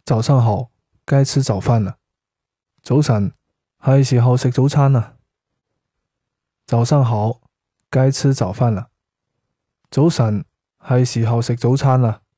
早上好，該吃早飯啦。早晨，係時候食早餐啦。早上好，該吃早飯啦。早晨，係時候食早餐啦。